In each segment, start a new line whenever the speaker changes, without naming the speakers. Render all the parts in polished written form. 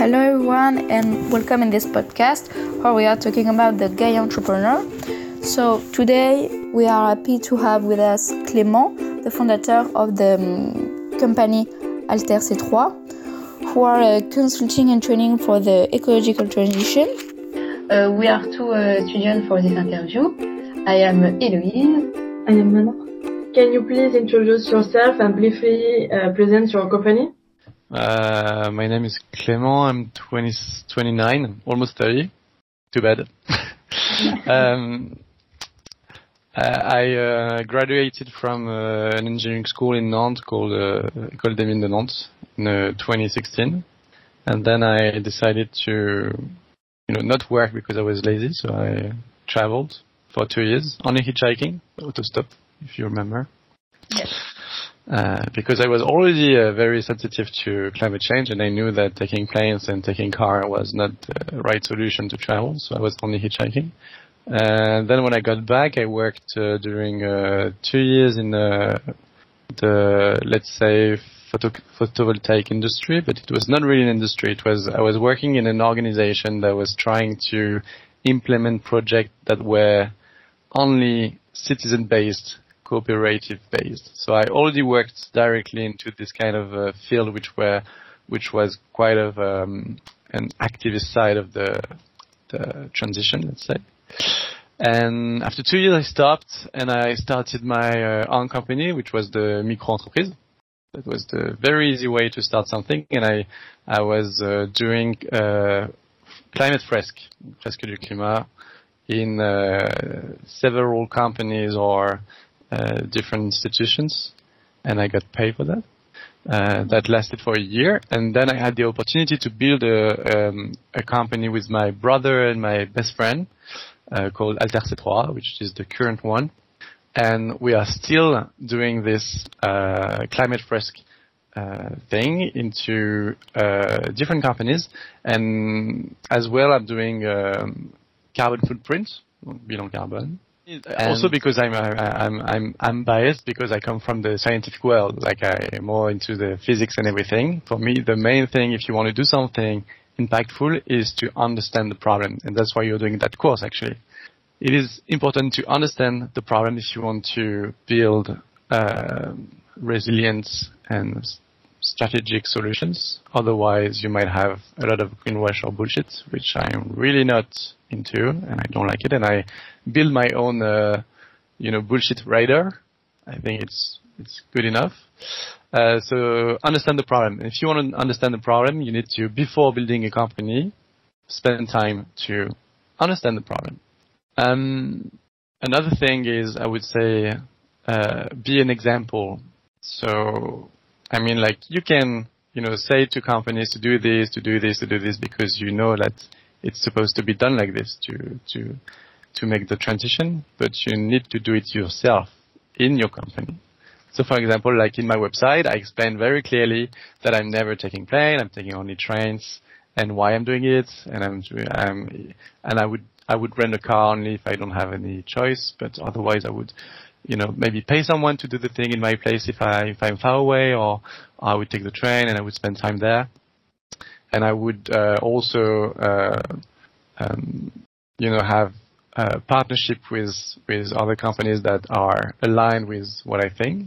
Hello everyone and welcome in this podcast where we are talking about the Gaia entrepreneur. So today we are happy to have with us Clément, the founder of the company Alter C3, who are consulting and training for the ecological transition.
We are two students for this interview. I am Héloïse.
I am Manon. Can you please introduce yourself and briefly present your company?
My name is Clément. I'm 29, almost 30. Too bad. I graduated from an engineering school in Nantes called École des Mines de Nantes in 2016, and then I decided to, not work because I was lazy. So I traveled for 2 years, only hitchhiking, autostop, if you remember.
Yes.
Because I was already very sensitive to climate change, and I knew that taking planes and taking car was not the right solution to travel, so I was only hitchhiking. And then when I got back, I worked during 2 years in the let's say, photovoltaic industry, but it was not really an industry. I was working in an organization that was trying to implement projects that were only citizen-based, cooperative-based. So I already worked directly into this kind of field, which was quite of an activist side of the transition, let's say. And after 2 years, I stopped and I started my own company, which was the micro-entreprise. That was the very easy way to start something. And I was doing climate fresque du climat, in several companies or different institutions, and I got paid for that. That lasted for a year, and then I had the opportunity to build a company with my brother and my best friend called Alter C3, which is the current one. And we are still doing this climate fresque thing into different companies, and as well I'm doing carbon footprint, bilan carbone. Also because I'm biased because I come from the scientific world, like I'm more into the physics and everything. For me, the main thing if you want to do something impactful is to understand the problem, and that's why you're doing that course actually. It is important to understand the problem if you want to build resilience and strategic solutions. Otherwise, you might have a lot of greenwash or bullshit, which I'm really not into, and I don't like it. And I build my own, bullshit radar. I think it's good enough. So understand the problem. If you want to understand the problem, you need to, before building a company, spend time to understand the problem. Another thing is, I would say, be an example. So, I mean, like, you can, say to companies to do this, because you know that it's supposed to be done like this to make the transition, but you need to do it yourself in your company. So, for example, like in my website, I explain very clearly that I'm never taking plane, I'm taking only trains, and why I'm doing it, and I would rent a car only if I don't have any choice, but otherwise I would, maybe pay someone to do the thing in my place if I'm far away, or I would take the train and I would spend time there. And I would also, have a partnership with other companies that are aligned with what I think.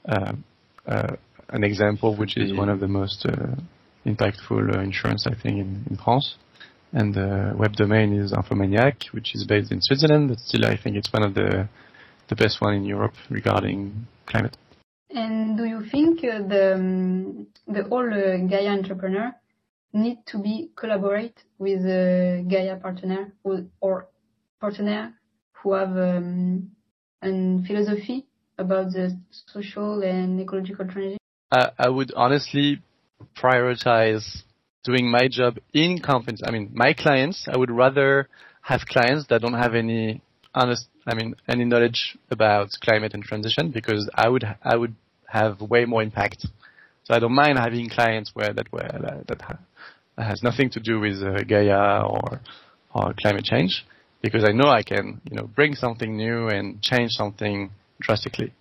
An example, which is one of the most impactful insurance, I think, in France. And the web domain is Infomaniac, which is based in Switzerland, but still I think it's one of the best one in Europe regarding climate.
And do you think the whole Gaia entrepreneur need to be collaborate with a Gaia partner or partner who have a philosophy about the social and ecological transition?
I would honestly prioritize doing my job in companies. I mean, my clients, I would rather have clients that don't have any knowledge about climate and transition, because I would have way more impact. So I don't mind having clients that has nothing to do with Gaia or climate change, because I know I can, bring something new and change something drastically.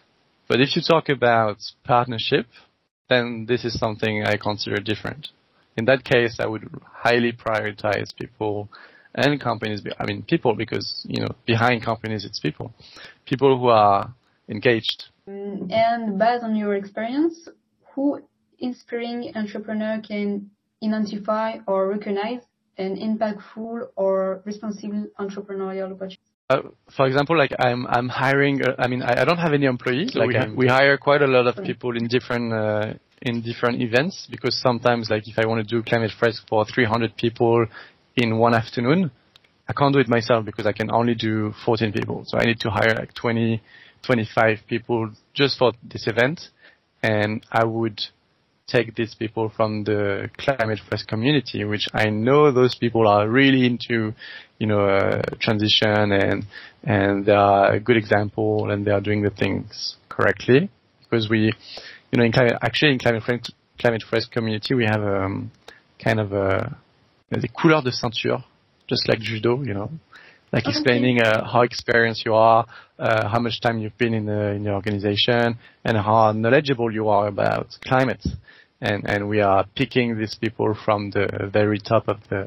But if you talk about partnership, then this is something I consider different. in that case, I would highly prioritize people and companies. I mean, people, because, behind companies, it's people who are engaged.
And based on your experience, who inspiring entrepreneur can identify or recognize an impactful or responsible entrepreneurial opportunity?
For example, like I'm hiring. I don't have any employees. So we hire quite a lot of people in different events, because sometimes, like, if I want to do Climate Fresk for 300 people in one afternoon, I can't do it myself because I can only do 14 people. So I need to hire like 20, 25 people just for this event, and I would take these people from the Climate Fresk community, which I know those people are really into, transition, and they are a good example, and they are doing the things correctly. Because we, in Climate Fresk community, we have kind of des couleurs de ceinture, just like judo, like explaining how experienced you are, how much time you've been in the organization, and how knowledgeable you are about climate. And we are picking these people from the very top of the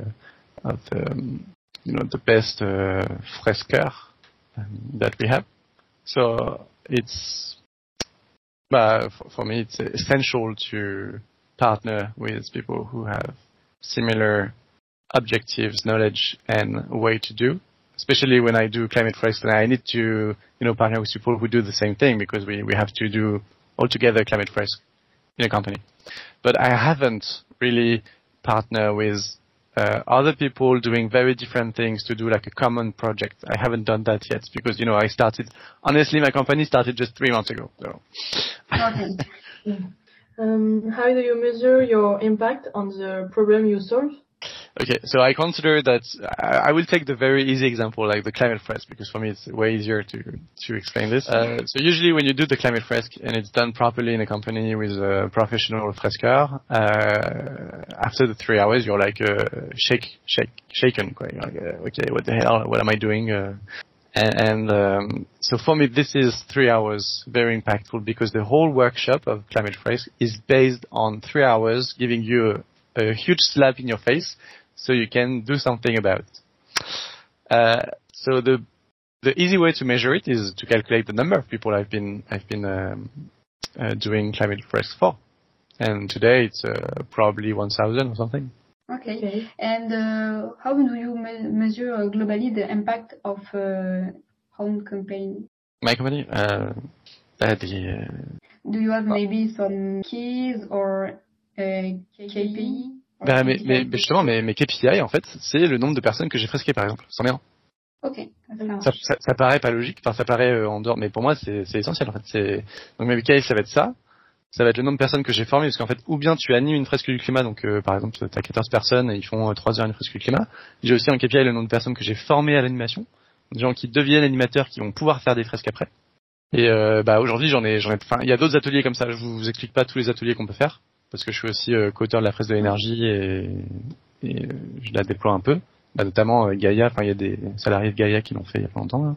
best freskeurs that we have. So it's, for me, it's essential to partner with people who have similar objectives, knowledge, and way to do. Especially when I do Climate Fresk, I need to, partner with people who do the same thing, because we have to do all together Climate Fresk in a company. But I haven't really partnered with other people doing very different things to do like a common project. I haven't done that yet because, honestly, my company started just 3 months ago. So.
Okay.
How do you measure your impact on the problem you solve?
Okay, so I consider that I will take the very easy example, like the Climate Fresk, because for me it's way easier to explain this. So usually when you do the Climate Fresk and it's done properly in a company with a professional freskeur, after the 3 hours you're like shaken. You're like, okay, what the hell? What am I doing? So for me this is 3 hours very impactful, because the whole workshop of Climate Fresk is based on 3 hours giving you a huge slap in your face, so you can do something about it. So the easy way to measure it is to calculate the number of people I've been doing Climate Fresk for, and today it's probably 1,000 or something.
Okay. And how do you measure globally the impact of own campaign?
My company,
do you have maybe some keys or KPI?
Mais justement, mes KPI, en fait, c'est le nombre de personnes que j'ai fresquées, par exemple. C'en est un.
Ok.
Ça paraît pas logique, enfin, ça paraît en dehors, mais pour moi, c'est essentiel, en fait. Donc, mes KPI, ça va être ça. Ça va être le nombre de personnes que j'ai formées, parce qu'en fait, ou bien tu animes une fresque du climat, donc, par exemple, t'as 14 personnes et ils font 3 heures une fresque du climat. J'ai aussi un KPI, le nombre de personnes que j'ai formées à l'animation. Des gens qui deviennent animateurs, qui vont pouvoir faire des fresques après. Et, aujourd'hui, il y a d'autres ateliers comme ça. Je vous explique pas tous les ateliers qu'on peut faire, parce que je suis aussi co-auteur de la fresque de l'énergie et je la déploie un peu. Notamment Gaïa, il y a des salariés de Gaïa qui l'ont fait il y a pas longtemps.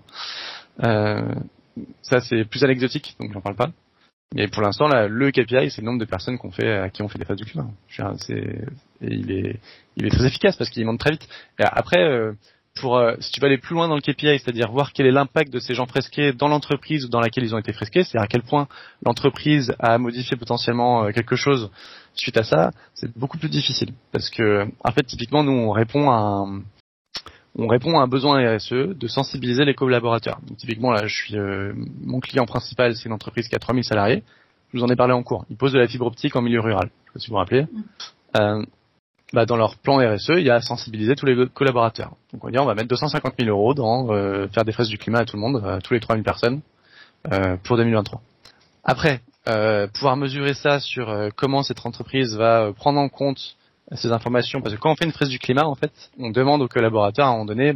Ça c'est plus anecdotique, donc j'en parle pas. Mais pour l'instant, là, le KPI, c'est le nombre de personnes qui ont fait des phases du climat. Il est très efficace parce qu'il monte très vite. Et après, si tu veux aller plus loin dans le KPI, c'est-à-dire voir quel est l'impact de ces gens fresqués dans l'entreprise dans laquelle ils ont été fresqués, c'est-à-dire à quel point l'entreprise a modifié potentiellement quelque chose suite à ça, c'est beaucoup plus difficile. Parce que, en fait, typiquement, nous, on répond à un besoin RSE de sensibiliser les collaborateurs. Donc, typiquement, là, mon client principal, c'est une entreprise qui a 3000 salariés. Je vous en ai parlé en cours. Ils posent de la fibre optique en milieu rural. Je sais pas si vous vous rappelez. Dans leur plan RSE, il y a sensibiliser tous les collaborateurs. Donc, on va mettre 250 000 euros dans faire des fresques du climat à tout le monde, à tous les 3000 personnes, pour 2023. Après, pouvoir mesurer ça sur comment cette entreprise va prendre en compte ces informations, parce que quand on fait une fresque du climat, en fait, on demande aux collaborateurs à un moment donné,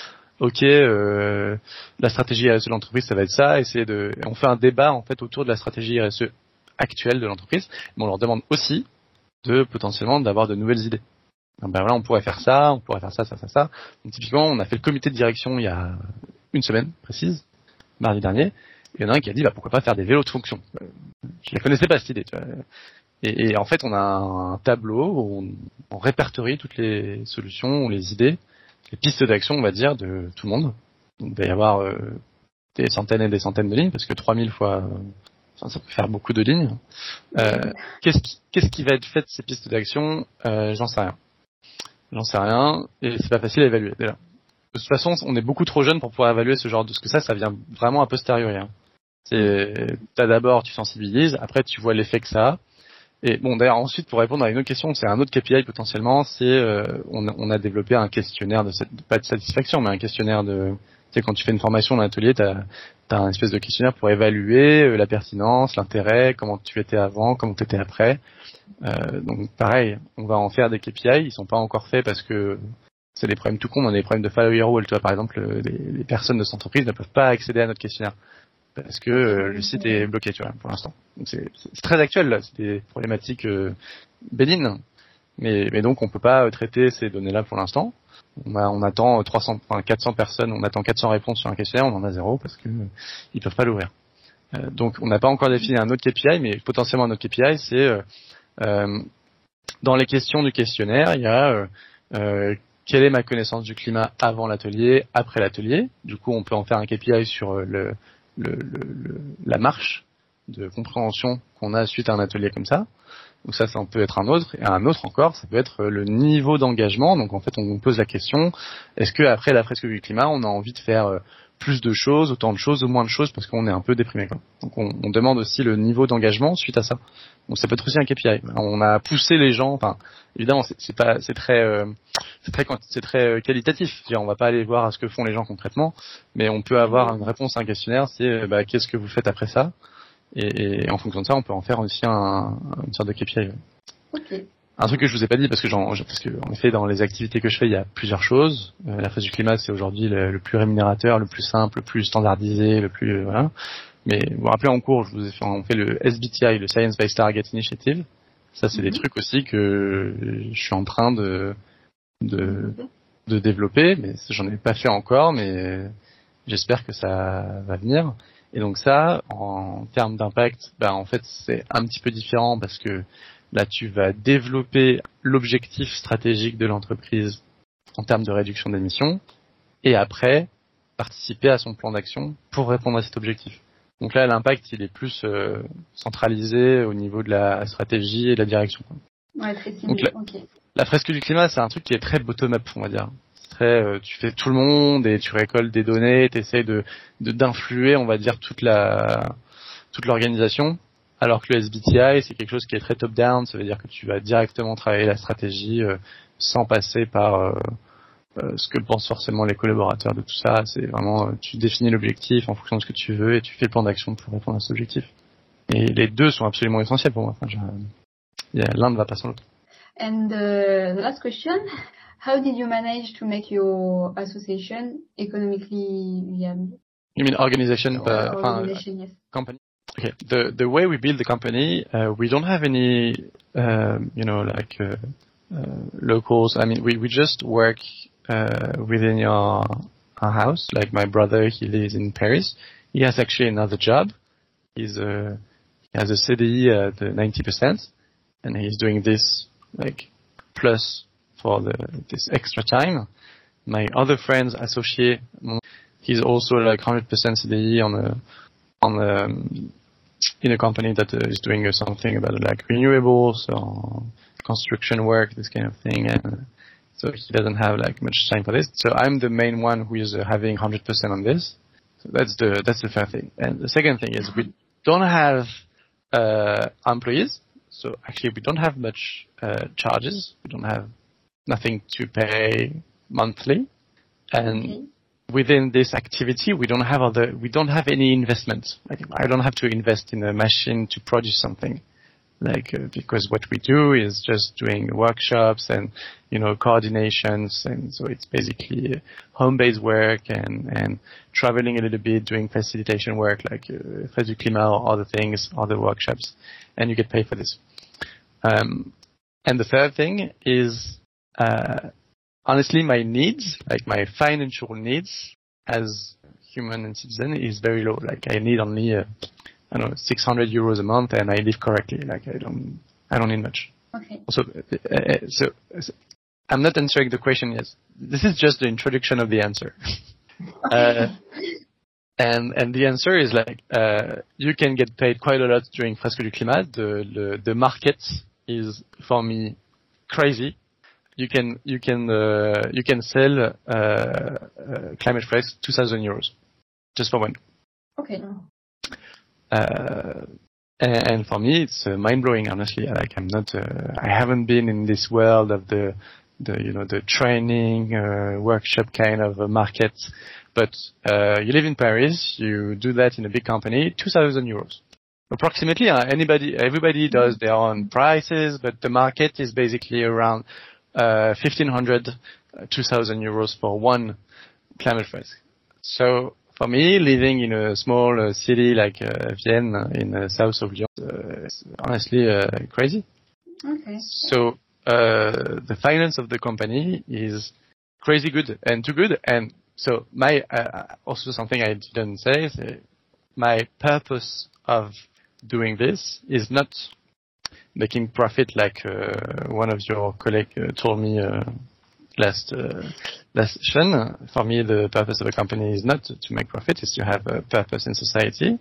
la stratégie RSE de l'entreprise, ça va être ça, on fait un débat en fait autour de la stratégie RSE actuelle de l'entreprise, mais on leur demande aussi potentiellement d'avoir de nouvelles idées. Donc, voilà, on pourrait faire ça, ça. Donc, typiquement, on a fait le comité de direction il y a une semaine précise, mardi dernier. Il y en a un qui a dit pourquoi pas faire des vélos de fonction. Je la connaissais pas cette idée. Tu vois. Et en fait, on a un tableau où répertorie toutes les solutions ou les idées, les pistes d'action, on va dire, de tout le monde. Donc, il va y avoir des centaines et des centaines de lignes, parce que 3000 fois, ça peut faire beaucoup de lignes. Qu'est-ce qui va être fait de ces pistes d'action? J'en sais rien, et c'est pas facile à évaluer, déjà. De toute façon, on est beaucoup trop jeune pour pouvoir évaluer ce genre de... Parce que ça vient vraiment a posteriori. Hein. D'abord, tu sensibilises, après tu vois l'effet que ça a. Et bon, d'ailleurs, ensuite, pour répondre à une autre question, c'est un autre KPI potentiellement, c'est on a développé un questionnaire pas de satisfaction, mais un questionnaire de... Tu sais, quand tu fais une formation dans l'atelier, t'as un espèce de questionnaire pour évaluer la pertinence, l'intérêt, comment tu étais avant, comment tu étais après. Donc pareil, on va en faire des KPI, ils sont pas encore faits parce que c'est des problèmes tout con, on a des problèmes de follower rule. Tu vois, par exemple, les personnes de cette entreprise ne peuvent pas accéder à notre questionnaire parce que le site est bloqué, tu vois, pour l'instant. Donc c'est très actuel, là. C'est des problématiques bénignes, mais donc on peut pas traiter ces données-là pour l'instant. On attend 400 personnes, on attend 400 réponses sur un questionnaire, on en a 0 parce que ils peuvent pas l'ouvrir. Donc on n'a pas encore défini un autre KPI, mais potentiellement un autre KPI, c'est dans les questions du questionnaire, il y a quelle est ma connaissance du climat avant l'atelier, après l'atelier. Du coup, on peut en faire un KPI sur la marche de compréhension qu'on a suite à un atelier comme ça. Donc ça peut être un autre. Et un autre encore, ça peut être le niveau d'engagement. Donc en fait, on pose la question, est-ce que après la fresque du climat, on a envie de faire plus de choses, autant de choses, ou moins de choses, parce qu'on est un peu déprimé, quoi. Donc on demande aussi le niveau d'engagement suite à ça. Donc ça peut être aussi un KPI. On a poussé les gens, enfin évidemment c'est très qualitatif. C'est-à-dire, on va pas aller voir à ce que font les gens concrètement, mais on peut avoir une réponse à un questionnaire, c'est qu'est-ce que vous faites après ça, et en fonction de ça, on peut en faire aussi une sorte de KPI.
Ok.
Un truc que je vous ai pas dit parce que en effet dans les activités que je fais il y a plusieurs choses. La fresque du climat c'est aujourd'hui le plus rémunérateur, le plus simple, le plus standardisé, le plus voilà. Mais vous vous rappelez en cours, on fait le SBTI, le Science Based Target Initiative. Ça c'est des trucs aussi que je suis en train de développer, mais j'en ai pas fait encore, mais j'espère que ça va venir. Et donc ça, en termes d'impact, en fait c'est un petit peu différent parce que là, tu vas développer l'objectif stratégique de l'entreprise en termes de réduction d'émissions et après, participer à son plan d'action pour répondre à cet objectif. Donc là, l'impact, il est plus centralisé au niveau de la stratégie et de la direction.
Ouais, très ciblé.
La fresque du climat, c'est un truc qui est très bottom-up, on va dire. C'est très, tu fais tout le monde et tu récoltes des données, tu essaies d'influer, on va dire, toute l'organisation. Alors que le SBTI, c'est quelque chose qui est très top-down, ça veut dire que tu vas directement travailler la stratégie sans passer par ce que pensent forcément les collaborateurs de tout ça. C'est vraiment, tu définis l'objectif en fonction de ce que tu veux et tu fais le plan d'action pour répondre à cet objectif. Et les deux sont absolument essentiels pour moi. Enfin, l'un ne va pas sans l'autre.
And the last question, how did you manage to make your association economically viable?
You mean organization?
Organization, yes.
Company? Okay. The way we build the company, we don't have any, locals. I mean, we just work within our house. Like my brother, he lives in Paris. He has actually another job. He has a CDI at 90%, and he's doing this plus for this extra time. My other friend's associate, he's also 100% CDI in a company that is doing something about renewables or construction work, this kind of thing, and so he doesn't have much time for this. So I'm the main one who is having 100% on this. So that's the first thing. And the second thing is we don't have employees, so actually we don't have much charges. We don't have nothing to pay monthly, and within this activity, we don't have any investment. I don't have to invest in a machine to produce something. Because what we do is just doing workshops and, coordinations. And so it's basically home-based work and traveling a little bit, doing facilitation work Fresque du Climat or other things, other workshops. And you get paid for this. And the third thing is, honestly, my needs, my financial needs as human and citizen is very low. I need only, 600 euros a month and I live correctly. I don't need much.
Okay.
So I'm not answering the question yet. This is just the introduction of the answer. And the answer is like, you can get paid quite a lot during Fresques du Climat. The market is, for me, crazy. You can sell, Climate Fresques 2,000 euros. Just for one.
Okay.
And for me, it's mind blowing, honestly. Like, I haven't been in this world of the training, workshop kind of a market. But, you live in Paris, you do that in a big company, 2,000 euros. Approximately, everybody does their own prices, but the market is basically around, 1,500, 2,000 euros for one Climate Fresque. So, for me, living in a small city like Vienne in the south of Lyon, it's honestly crazy.
Okay.
So the finance of the company is crazy good and too good. And so my also something I didn't say is my purpose of doing this is not making profit like one of your colleagues told me last session. For me, the purpose of a company is not to make profit; it's to have a purpose in society.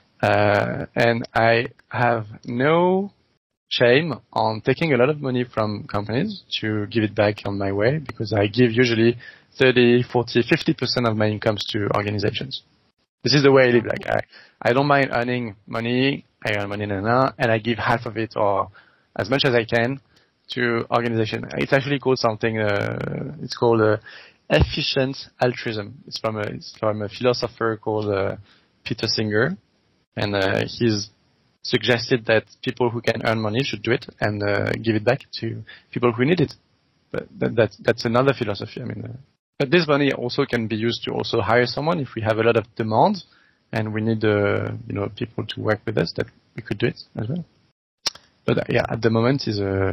And I have no shame on taking a lot of money from companies to give it back on my way, because I give usually 30, 40, 50% of my incomes to organizations. This is the way I live. Like I don't mind earning money. I earn money and I give half of it or as much as I can to organization. It's actually called something. It's called efficient altruism. It's from a philosopher called Peter Singer, and he's suggested that people who can earn money should do it and give it back to people who need it. But that's another philosophy. I mean, but this money also can be used to also hire someone if we have a lot of demand and we need people to work with us, that we could do it as well. But yeah, at the moment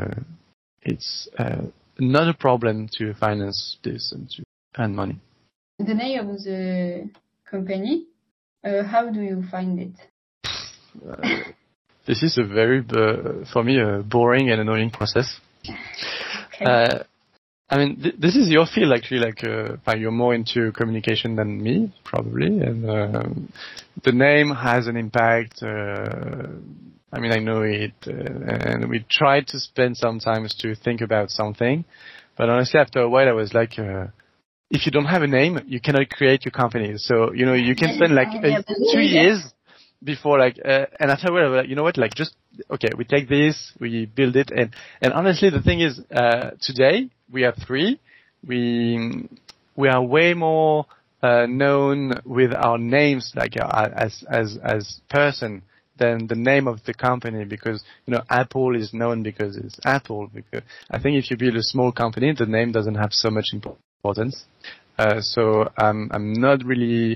it's not a problem to finance this and to earn money.
The name of the company, how do you find it?
This is a very, for me, a boring and annoying process.
Okay.
I mean, this is your field actually. Like, you're more into communication than me, probably, and the name has an impact. I mean, I know it, and we tried to spend some time to think about something, but honestly, after a while, I was like, if you don't have a name, you cannot create your company. So, you can spend like 2 years before and after a while, I was like, you know what, like okay, we take this, we build it, and honestly, the thing is, today, we are 3, we are way more, known with our names, like, as person, than the name of the company, because Apple is known because it's Apple. Because I think if you build a small company, the name doesn't have so much importance. So I'm not really.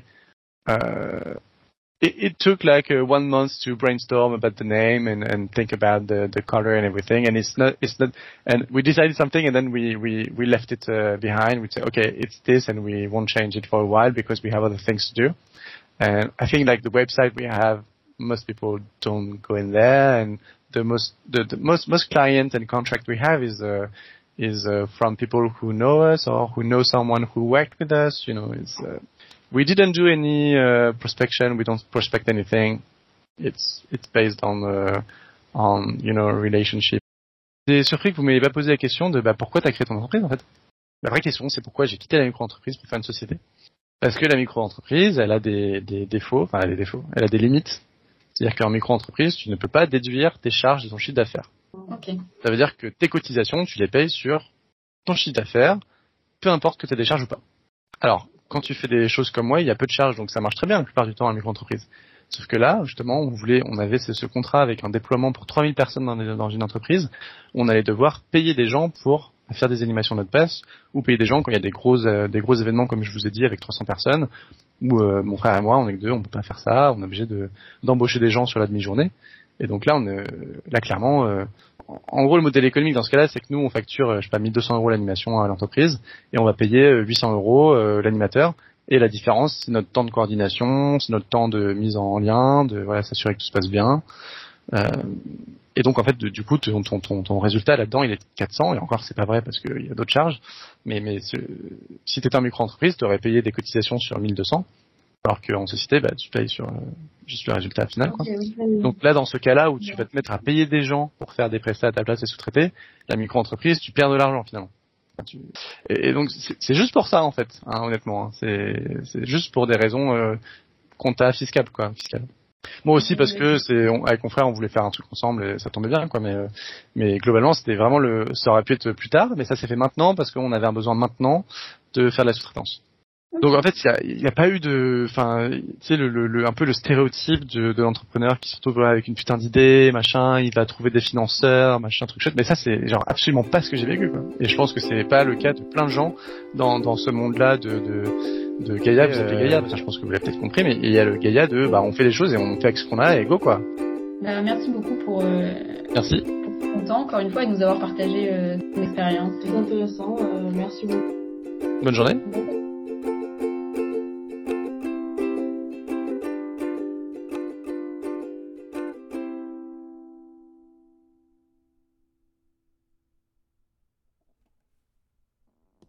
It took like 1 month to brainstorm about the name and think about the color and everything, and it's not, and we decided something and then we left it behind. We said, okay, it's this, and we won't change it for a while because we have other things to do. And I think like the website we have, most people don't go in there, and the most client and contract we have is from people who know us or who know someone who worked with us. We didn't do any prospection. We don't prospect anything. It's based on relationship. J'ai surpris que vous m'ayez pas posé la question de pourquoi tu as créé ton entreprise en fait. La vraie question, c'est pourquoi j'ai quitté la micro-entreprise pour faire une société. Parce que la micro-entreprise, elle a des défauts, elle a des défauts, elle a des limites. C'est-à-dire qu'en micro-entreprise, tu ne peux pas déduire tes charges de ton chiffre d'affaires.
Okay.
Ça veut dire que tes cotisations, tu les payes sur ton chiffre d'affaires, peu importe que tu aies des charges ou pas. Alors, quand tu fais des choses comme moi, il y a peu de charges, donc ça marche très bien la plupart du temps en micro-entreprise. Sauf que là, justement, on avait ce contrat avec un déploiement pour 3000 personnes dans une entreprise, où on allait devoir payer des gens pour faire des animations de notre passe, ou payer des gens quand il y a des gros événements, comme je vous ai dit, avec 300 personnes, où mon frère et moi, on est que 2, on peut pas faire ça, on est obligé d'embaucher des gens sur la demi-journée. Et donc là, clairement, en gros, le modèle économique dans ce cas-là, c'est que nous, on facture, 1200 € l'animation à l'entreprise, et on va payer 800 € l'animateur. Et la différence, c'est notre temps de coordination, c'est notre temps de mise en lien, de s'assurer que tout se passe bien. Et donc en fait, du coup, ton résultat là-dedans, il est 400. Et encore, c'est pas vrai parce qu'il y a d'autres charges. Mais si t'étais en micro-entreprise, t'aurais payé des cotisations sur 1200. Alors qu'en société, tu payes sur juste le résultat final, quoi.
Ok, oui.
Donc là, dans ce cas-là où tu vas te mettre à payer des gens pour faire des prestats à ta place et sous-traiter, la micro-entreprise, tu perds de l'argent finalement. Et donc c'est juste pour ça en fait, hein, honnêtement. Hein. C'est juste pour des raisons compta fiscales, quoi. Moi aussi parce que avec mon frère, on voulait faire un truc ensemble et ça tombait bien, quoi. Mais globalement, c'était vraiment ça aurait pu être plus tard, mais ça s'est fait maintenant parce qu'on avait un besoin maintenant de faire de la sous-traitance. Donc en fait, il y a pas eu tu sais un peu le stéréotype de l'entrepreneur qui se retrouve avec une putain d'idée, machin, il va trouver des financeurs, machin, truc chouette. Mais ça, c'est genre absolument pas ce que j'ai vécu, quoi. Et je pense que c'est pas le cas de plein de gens dans ce monde-là de Gaïa. Vous appelez Gaïa, je pense que vous l'avez peut-être compris, mais il y a le Gaïa on fait les choses et on fait avec ce qu'on a et go, quoi.
Merci beaucoup pour
Merci.
ton temps encore une fois et de nous avoir partagé ton expérience.
C'est intéressant. Merci beaucoup.
Bonne journée.